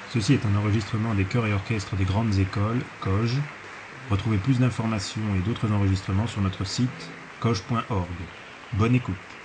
Ceci est un enregistrement des chœurs et orchestres des grandes écoles, COG. Retrouvez plus d'informations et d'autres enregistrements sur notre site cog.org. Bonne écoute.